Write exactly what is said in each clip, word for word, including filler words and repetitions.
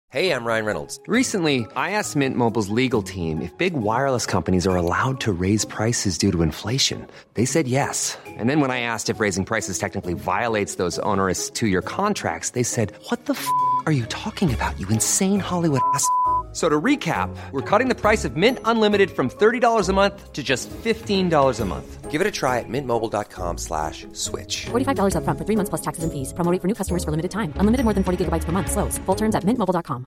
Hey, I'm Ryan Reynolds. Recently, I asked Mint Mobile's legal team if big wireless companies are allowed to raise prices due to inflation. They said yes. And then when I asked if raising prices technically violates those onerous two-year contracts, they said, what the f*** are you talking about, you insane Hollywood ass f- So to recap, we're cutting the price of Mint Unlimited from thirty dollars a month to just fifteen dollars a month. Give it a try at mintmobile.com slash switch. forty-five dollars up front for three months plus taxes and fees. Promo rate for new customers for limited time. Unlimited more than forty gigabytes per month. Slows full terms at mint mobile dot com.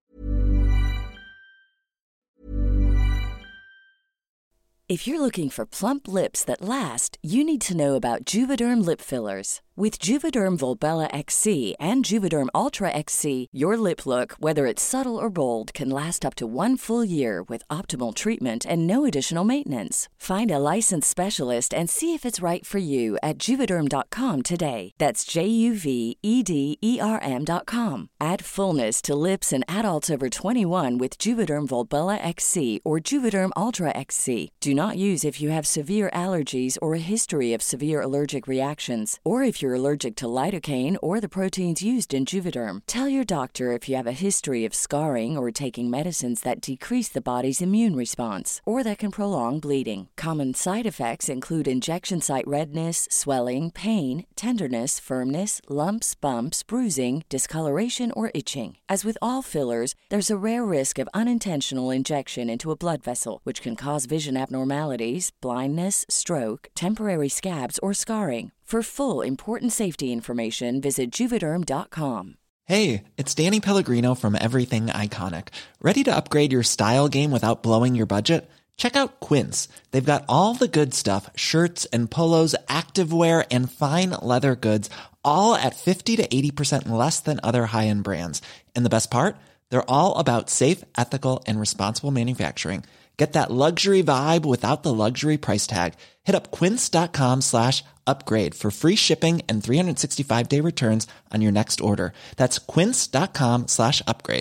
If you're looking for plump lips that last, you need to know about Juvederm lip fillers. With Juvederm Volbella X C and Juvederm Ultra X C, your lip look, whether it's subtle or bold, can last up to one full year with optimal treatment and no additional maintenance. Find a licensed specialist and see if it's right for you at Juvederm dot com today. That's J U V E D E R M dot com. Add fullness to lips in adults over twenty-one with Juvederm Volbella X C or Juvederm Ultra X C. Do not use if you have severe allergies or a history of severe allergic reactions, or if you're allergic to lidocaine or the proteins used in Juvederm. Tell your doctor if you have a history of scarring or taking medicines that decrease the body's immune response or that can prolong bleeding. Common side effects include injection site redness, swelling, pain, tenderness, firmness, lumps, bumps, bruising, discoloration, or itching. As with all fillers, there's a rare risk of unintentional injection into a blood vessel, which can cause vision abnormalities, blindness, stroke, temporary scabs, or scarring. For full, important safety information, visit Juvederm dot com. Hey, it's Danny Pellegrino from Everything Iconic. Ready to upgrade your style game without blowing your budget? Check out Quince. They've got all the good stuff, shirts and polos, activewear, and fine leather goods, all at fifty to eighty percent less than other high-end brands. And the best part? They're all about safe, ethical, and responsible manufacturing. Get that luxury vibe without the luxury price tag. Hit up quince.com slash upgrade for free shipping and three sixty-five day returns on your next order. That's quince.com slash upgrade.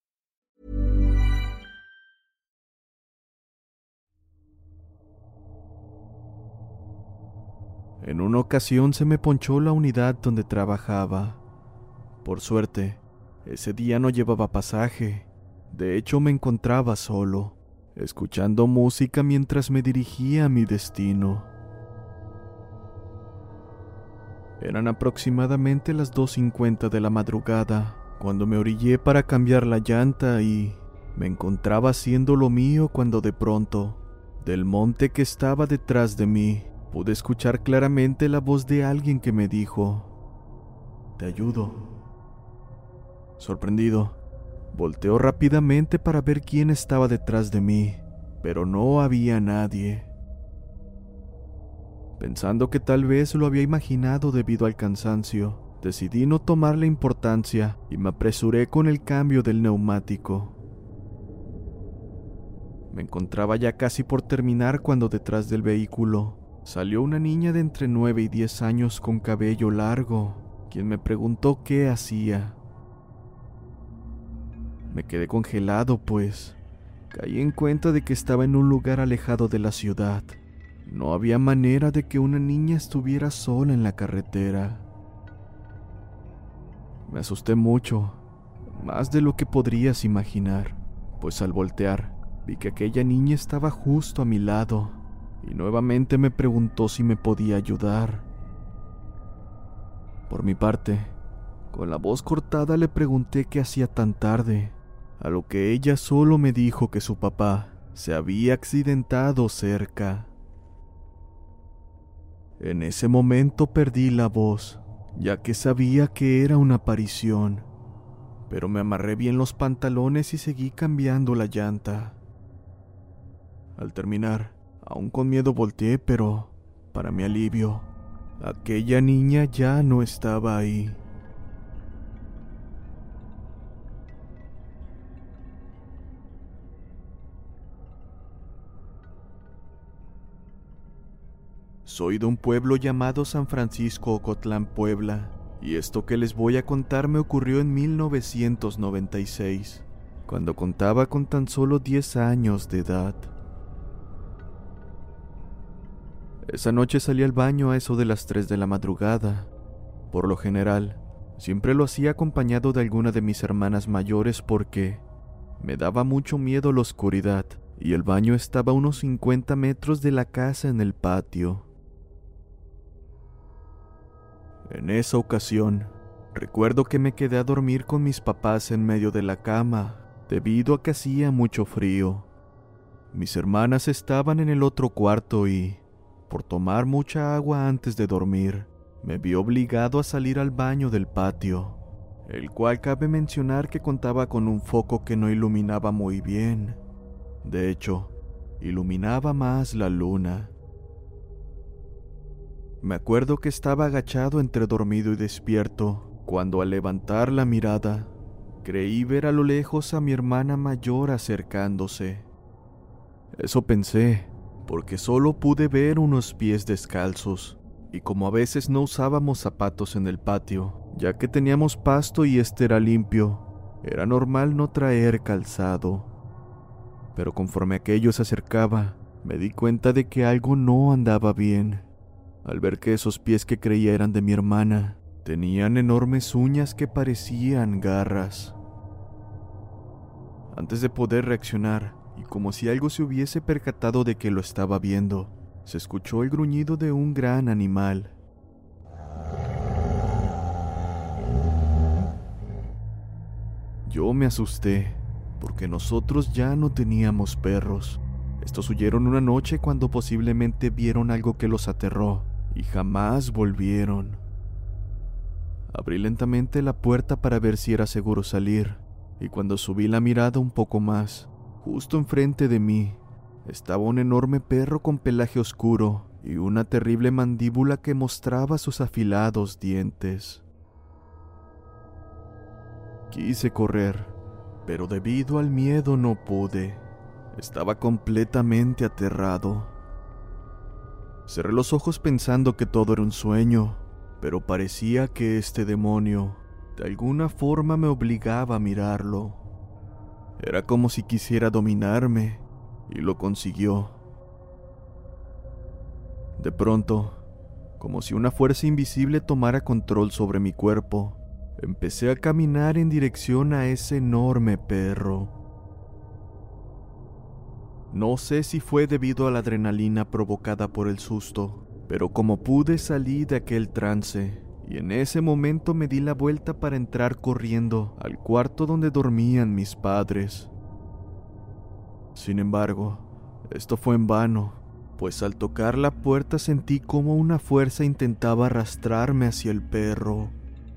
En una ocasión se me ponchó la unidad donde trabajaba. Por suerte, ese día no llevaba pasaje. De hecho, me encontraba solo, escuchando música mientras me dirigía a mi destino. Eran aproximadamente las dos cincuenta de la madrugada, cuando me orillé para cambiar la llanta y me encontraba haciendo lo mío cuando de pronto, del monte que estaba detrás de mí, pude escuchar claramente la voz de alguien que me dijo: «Te ayudo». Sorprendido, volteó rápidamente para ver quién estaba detrás de mí, pero no había nadie. Pensando que tal vez lo había imaginado debido al cansancio, decidí no tomarle importancia y me apresuré con el cambio del neumático. Me encontraba ya casi por terminar cuando detrás del vehículo salió una niña de entre nueve y diez años con cabello largo, quien me preguntó qué hacía. Me quedé congelado, pues caí en cuenta de que estaba en un lugar alejado de la ciudad. No había manera de que una niña estuviera sola en la carretera. Me asusté mucho, más de lo que podrías imaginar, pues al voltear vi que aquella niña estaba justo a mi lado y nuevamente me preguntó si me podía ayudar. Por mi parte, con la voz cortada le pregunté qué hacía tan tarde, a lo que ella solo me dijo que su papá se había accidentado cerca. En ese momento perdí la voz, ya que sabía que era una aparición, pero me amarré bien los pantalones y seguí cambiando la llanta. Al terminar, aún con miedo volteé, pero, para mi alivio, aquella niña ya no estaba ahí. Soy de un pueblo llamado San Francisco Ocotlán, Puebla, y esto que les voy a contar me ocurrió en mil novecientos noventa y seis, cuando contaba con tan solo diez años de edad. Esa noche salí al baño a eso de las tres de la madrugada. Por lo general, Siempre lo hacía acompañado de alguna de mis hermanas mayores porque me daba mucho miedo la oscuridad y el baño estaba a unos cincuenta metros de la casa en el patio. En esa ocasión, recuerdo que me quedé a dormir con mis papás en medio de la cama, debido a que hacía mucho frío. Mis hermanas estaban en el otro cuarto y, por tomar mucha agua antes de dormir, me vi obligado a salir al baño del patio, el cual cabe mencionar que contaba con un foco que no iluminaba muy bien. De hecho, iluminaba más la luna. Me acuerdo que estaba agachado entre dormido y despierto, cuando al levantar la mirada, creí ver a lo lejos a mi hermana mayor acercándose. Eso pensé, porque solo pude ver unos pies descalzos, y como a veces no usábamos zapatos en el patio, ya que teníamos pasto y este era limpio, era normal no traer calzado. Pero conforme aquello se acercaba, me di cuenta de que algo no andaba bien, al ver que esos pies que creía eran de mi hermana, tenían enormes uñas que parecían garras. Antes de poder reaccionar, y como si algo se hubiese percatado de que lo estaba viendo, se escuchó el gruñido de un gran animal. Yo me asusté, porque nosotros ya no teníamos perros. Estos huyeron una noche cuando posiblemente vieron algo que los aterró, y jamás volvieron. Abrí lentamente la puerta para ver si era seguro salir, y cuando subí la mirada un poco más, justo enfrente de mí, estaba un enorme perro con pelaje oscuro y una terrible mandíbula que mostraba sus afilados dientes. Quise correr, pero debido al miedo no pude. Estaba completamente aterrado. Cerré los ojos pensando que todo era un sueño, pero parecía que este demonio, de alguna forma, me obligaba a mirarlo. Era como si quisiera dominarme, y lo consiguió. De pronto, como si una fuerza invisible tomara control sobre mi cuerpo, empecé a caminar en dirección a ese enorme perro. No sé si fue debido a la adrenalina provocada por el susto, pero como pude salí de aquel trance, y en ese momento me di la vuelta para entrar corriendo al cuarto donde dormían mis padres. Sin embargo, esto fue en vano, pues al tocar la puerta sentí como una fuerza intentaba arrastrarme hacia el perro.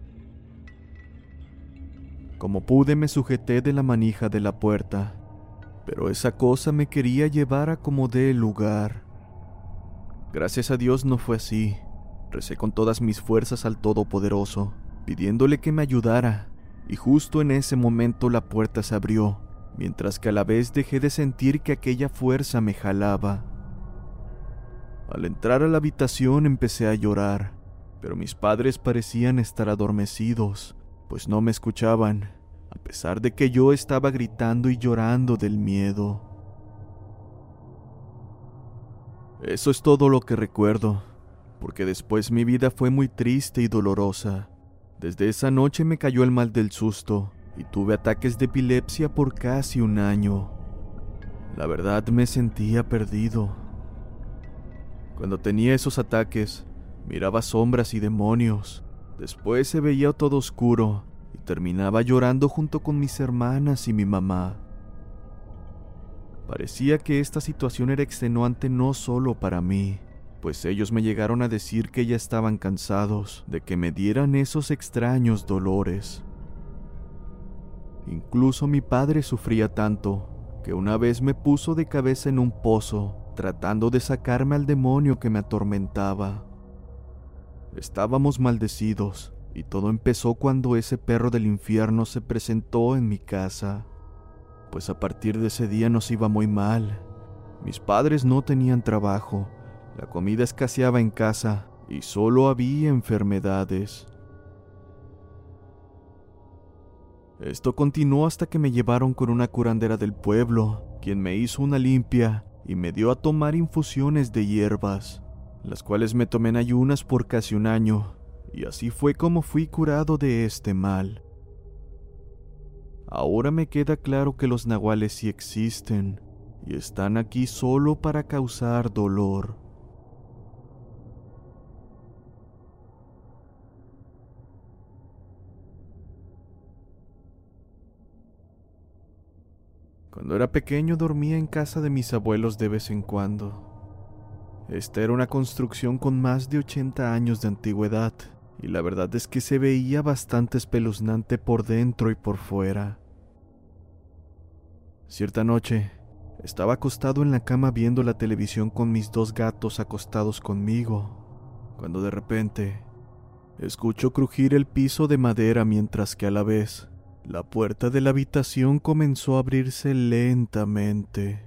Como pude me sujeté de la manija de la puerta, pero esa cosa me quería llevar a como dé lugar. Gracias a Dios no fue así. Recé con todas mis fuerzas al Todopoderoso, pidiéndole que me ayudara, y justo en ese momento la puerta se abrió, mientras que a la vez dejé de sentir que aquella fuerza me jalaba. Al entrar a la habitación empecé a llorar, pero mis padres parecían estar adormecidos, pues no me escuchaban, a pesar de que yo estaba gritando y llorando del miedo. Eso es todo lo que recuerdo, porque después mi vida fue muy triste y dolorosa. Desde esa noche me cayó el mal del susto y tuve ataques de epilepsia por casi un año. La verdad me sentía perdido. Cuando tenía esos ataques, miraba sombras y demonios. Después se veía todo oscuro y terminaba llorando junto con mis hermanas y mi mamá. Parecía que esta situación era extenuante no solo para mí, pues ellos me llegaron a decir que ya estaban cansados de que me dieran esos extraños dolores. Incluso mi padre sufría tanto que una vez me puso de cabeza en un pozo, tratando de sacarme al demonio que me atormentaba. Estábamos maldecidos, y todo empezó cuando ese perro del infierno se presentó en mi casa, pues a partir de ese día nos iba muy mal. Mis padres no tenían trabajo, la comida escaseaba en casa y solo había enfermedades. Esto continuó hasta que me llevaron con una curandera del pueblo, quien me hizo una limpia y me dio a tomar infusiones de hierbas, las cuales me tomé en ayunas por casi un año, y así fue como fui curado de este mal. Ahora me queda claro que los nahuales sí existen y están aquí solo para causar dolor. Cuando era pequeño dormía en casa de mis abuelos de vez en cuando. Esta era una construcción con más de ochenta años de antigüedad, y la verdad es que se veía bastante espeluznante por dentro y por fuera. Cierta noche, estaba acostado en la cama viendo la televisión con mis dos gatos acostados conmigo, cuando de repente escucho crujir el piso de madera mientras que a la vez la puerta de la habitación comenzó a abrirse lentamente.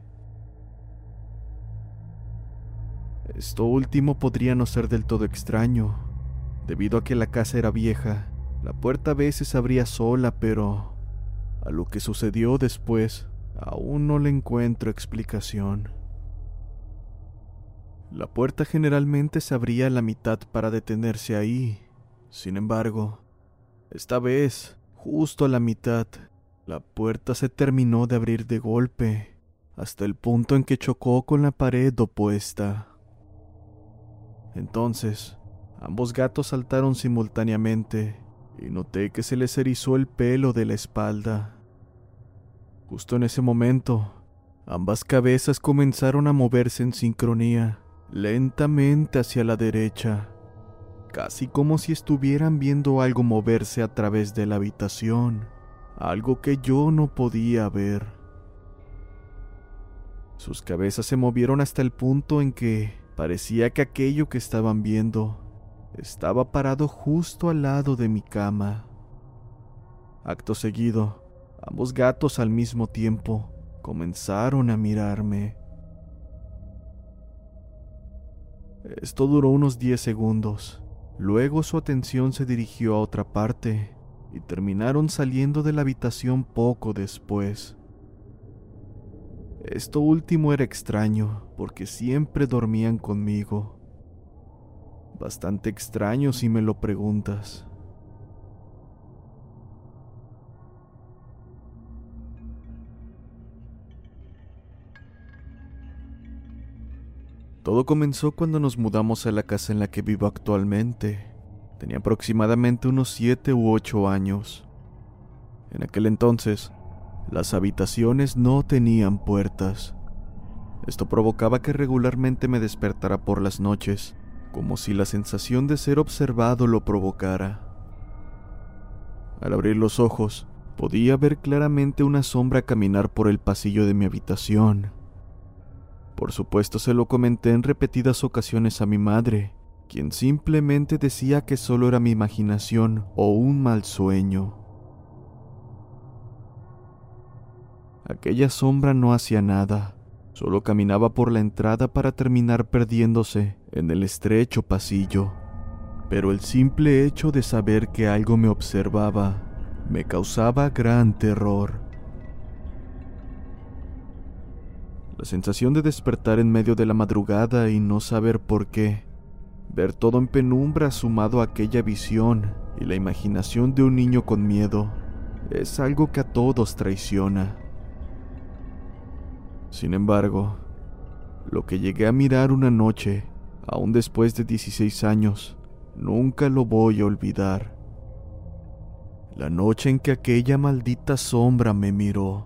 Esto último podría no ser del todo extraño, debido a que la casa era vieja. La puerta a veces abría sola, pero a lo que sucedió después aún no le encuentro explicación. La puerta generalmente se abría a la mitad para detenerse ahí. Sin embargo, esta vez, justo a la mitad, la puerta se terminó de abrir de golpe, hasta el punto en que chocó con la pared opuesta. Entonces, ambos gatos saltaron simultáneamente y noté que se les erizó el pelo de la espalda. Justo en ese momento, ambas cabezas comenzaron a moverse en sincronía, lentamente hacia la derecha, casi como si estuvieran viendo algo moverse a través de la habitación, algo que yo no podía ver. Sus cabezas se movieron hasta el punto en que parecía que aquello que estaban viendo estaba parado justo al lado de mi cama. Acto seguido, ambos gatos al mismo tiempo comenzaron a mirarme. Esto duró unos diez segundos. Luego su atención se dirigió a otra parte y terminaron saliendo de la habitación poco después. Esto último era extraño porque siempre dormían conmigo. Bastante extraño si me lo preguntas. Todo comenzó cuando nos mudamos a la casa en la que vivo actualmente. Tenía aproximadamente unos siete u ocho años. En aquel entonces, las habitaciones no tenían puertas. Esto provocaba que regularmente me despertara por las noches, como si la sensación de ser observado lo provocara. Al abrir los ojos, podía ver claramente una sombra caminar por el pasillo de mi habitación. Por supuesto se lo comenté en repetidas ocasiones a mi madre, quien simplemente decía que solo era mi imaginación o un mal sueño. Aquella sombra no hacía nada, solo caminaba por la entrada para terminar perdiéndose en el estrecho pasillo. Pero el simple hecho de saber que algo me observaba me causaba gran terror. La sensación de despertar en medio de la madrugada y no saber por qué, ver todo en penumbra sumado a aquella visión y la imaginación de un niño con miedo, es algo que a todos traiciona. Sin embargo, lo que llegué a mirar una noche, aún después de dieciséis años, nunca lo voy a olvidar. La noche en que aquella maldita sombra me miró.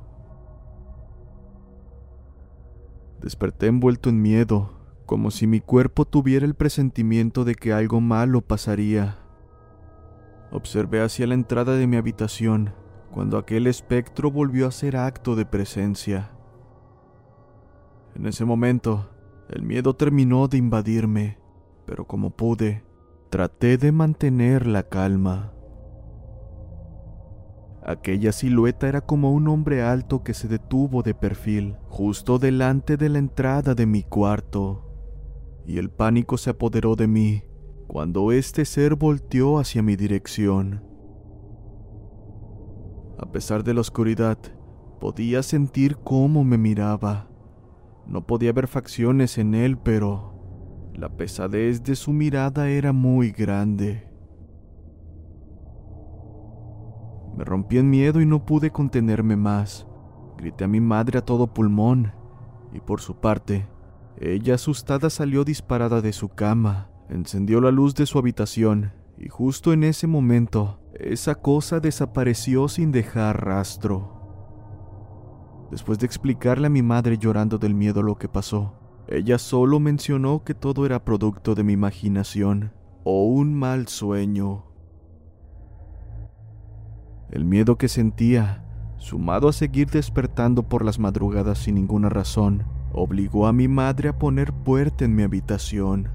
Desperté envuelto en miedo, como si mi cuerpo tuviera el presentimiento de que algo malo pasaría. Observé hacia la entrada de mi habitación, cuando aquel espectro volvió a hacer acto de presencia. En ese momento, el miedo terminó de invadirme, pero como pude, traté de mantener la calma. Aquella silueta era como un hombre alto que se detuvo de perfil, justo delante de la entrada de mi cuarto, y el pánico se apoderó de mí cuando este ser volteó hacia mi dirección. A pesar de la oscuridad, podía sentir cómo me miraba. No podía ver facciones en él, pero la pesadez de su mirada era muy grande. Me rompí en miedo y no pude contenerme más. Grité a mi madre a todo pulmón, y por su parte, ella asustada salió disparada de su cama, encendió la luz de su habitación, y justo en ese momento, esa cosa desapareció sin dejar rastro. Después de explicarle a mi madre llorando del miedo lo que pasó, ella solo mencionó que todo era producto de mi imaginación o un mal sueño. El miedo que sentía, sumado a seguir despertando por las madrugadas sin ninguna razón, obligó a mi madre a poner puerta en mi habitación.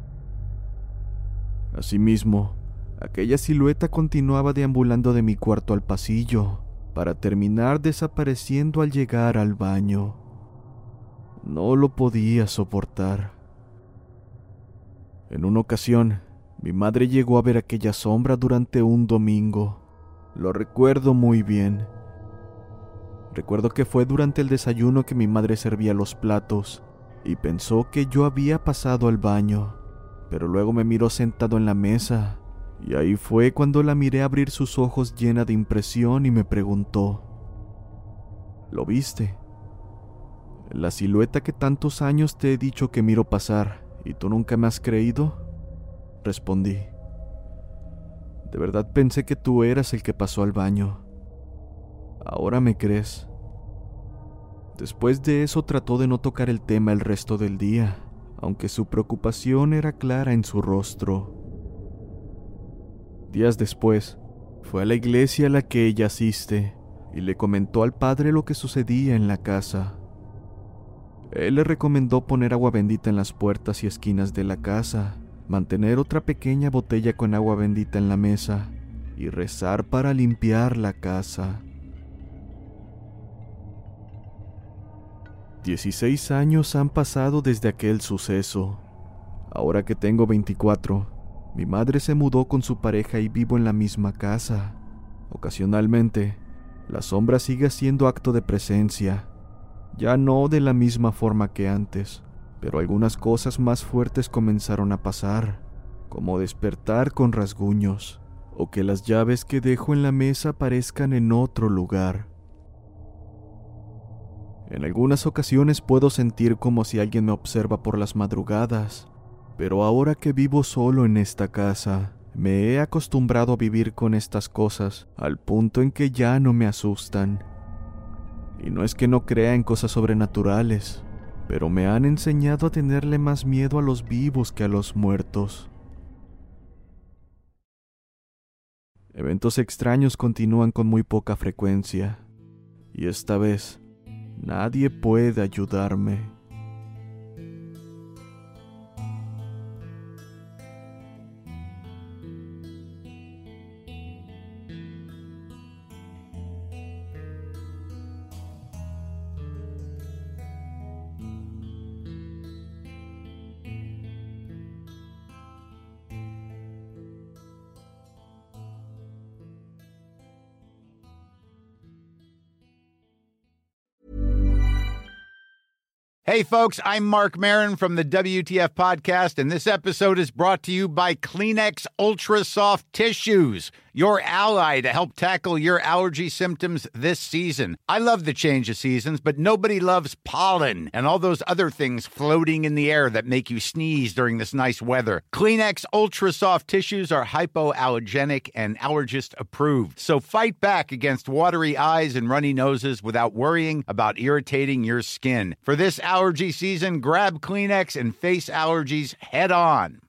Asimismo, aquella silueta continuaba deambulando de mi cuarto al pasillo, para terminar desapareciendo al llegar al baño. No lo podía soportar. En una ocasión, mi madre llegó a ver aquella sombra durante un domingo. Lo recuerdo muy bien. Recuerdo que fue durante el desayuno que mi madre servía los platos y pensó que yo había pasado al baño, pero luego me miró sentado en la mesa y ahí fue cuando la miré abrir sus ojos llena de impresión y me preguntó: ¿lo viste? ¿La silueta que tantos años te he dicho que miro pasar y tú nunca me has creído? Respondí. De verdad pensé que tú eras el que pasó al baño. ¿Ahora me crees? Después de eso trató de no tocar el tema el resto del día, aunque su preocupación era clara en su rostro. Días después, fue a la iglesia a la que ella asiste y le comentó al padre lo que sucedía en la casa. Él le recomendó poner agua bendita en las puertas y esquinas de la casa, mantener otra pequeña botella con agua bendita en la mesa y rezar para limpiar la casa. Dieciséis años han pasado desde aquel suceso. Ahora que tengo veinticuatro, mi madre se mudó con su pareja y vivo en la misma casa. Ocasionalmente, la sombra sigue siendo acto de presencia, ya no de la misma forma que antes, pero algunas cosas más fuertes comenzaron a pasar, como despertar con rasguños, o que las llaves que dejo en la mesa aparezcan en otro lugar. En algunas ocasiones puedo sentir como si alguien me observa por las madrugadas, pero ahora que vivo solo en esta casa, me he acostumbrado a vivir con estas cosas al punto en que ya no me asustan. Y no es que no crea en cosas sobrenaturales, pero me han enseñado a tenerle más miedo a los vivos que a los muertos. Eventos extraños continúan con muy poca frecuencia, y esta vez nadie puede ayudarme. Hey, folks, I'm Mark Maron from the W T F Podcast, and this episode is brought to you by Kleenex Ultra Soft Tissues, your ally to help tackle your allergy symptoms this season. I love the change of seasons, but nobody loves pollen and all those other things floating in the air that make you sneeze during this nice weather. Kleenex Ultra Soft Tissues are hypoallergenic and allergist approved, so fight back against watery eyes and runny noses without worrying about irritating your skin. For this allergy season, grab Kleenex and face allergies head on.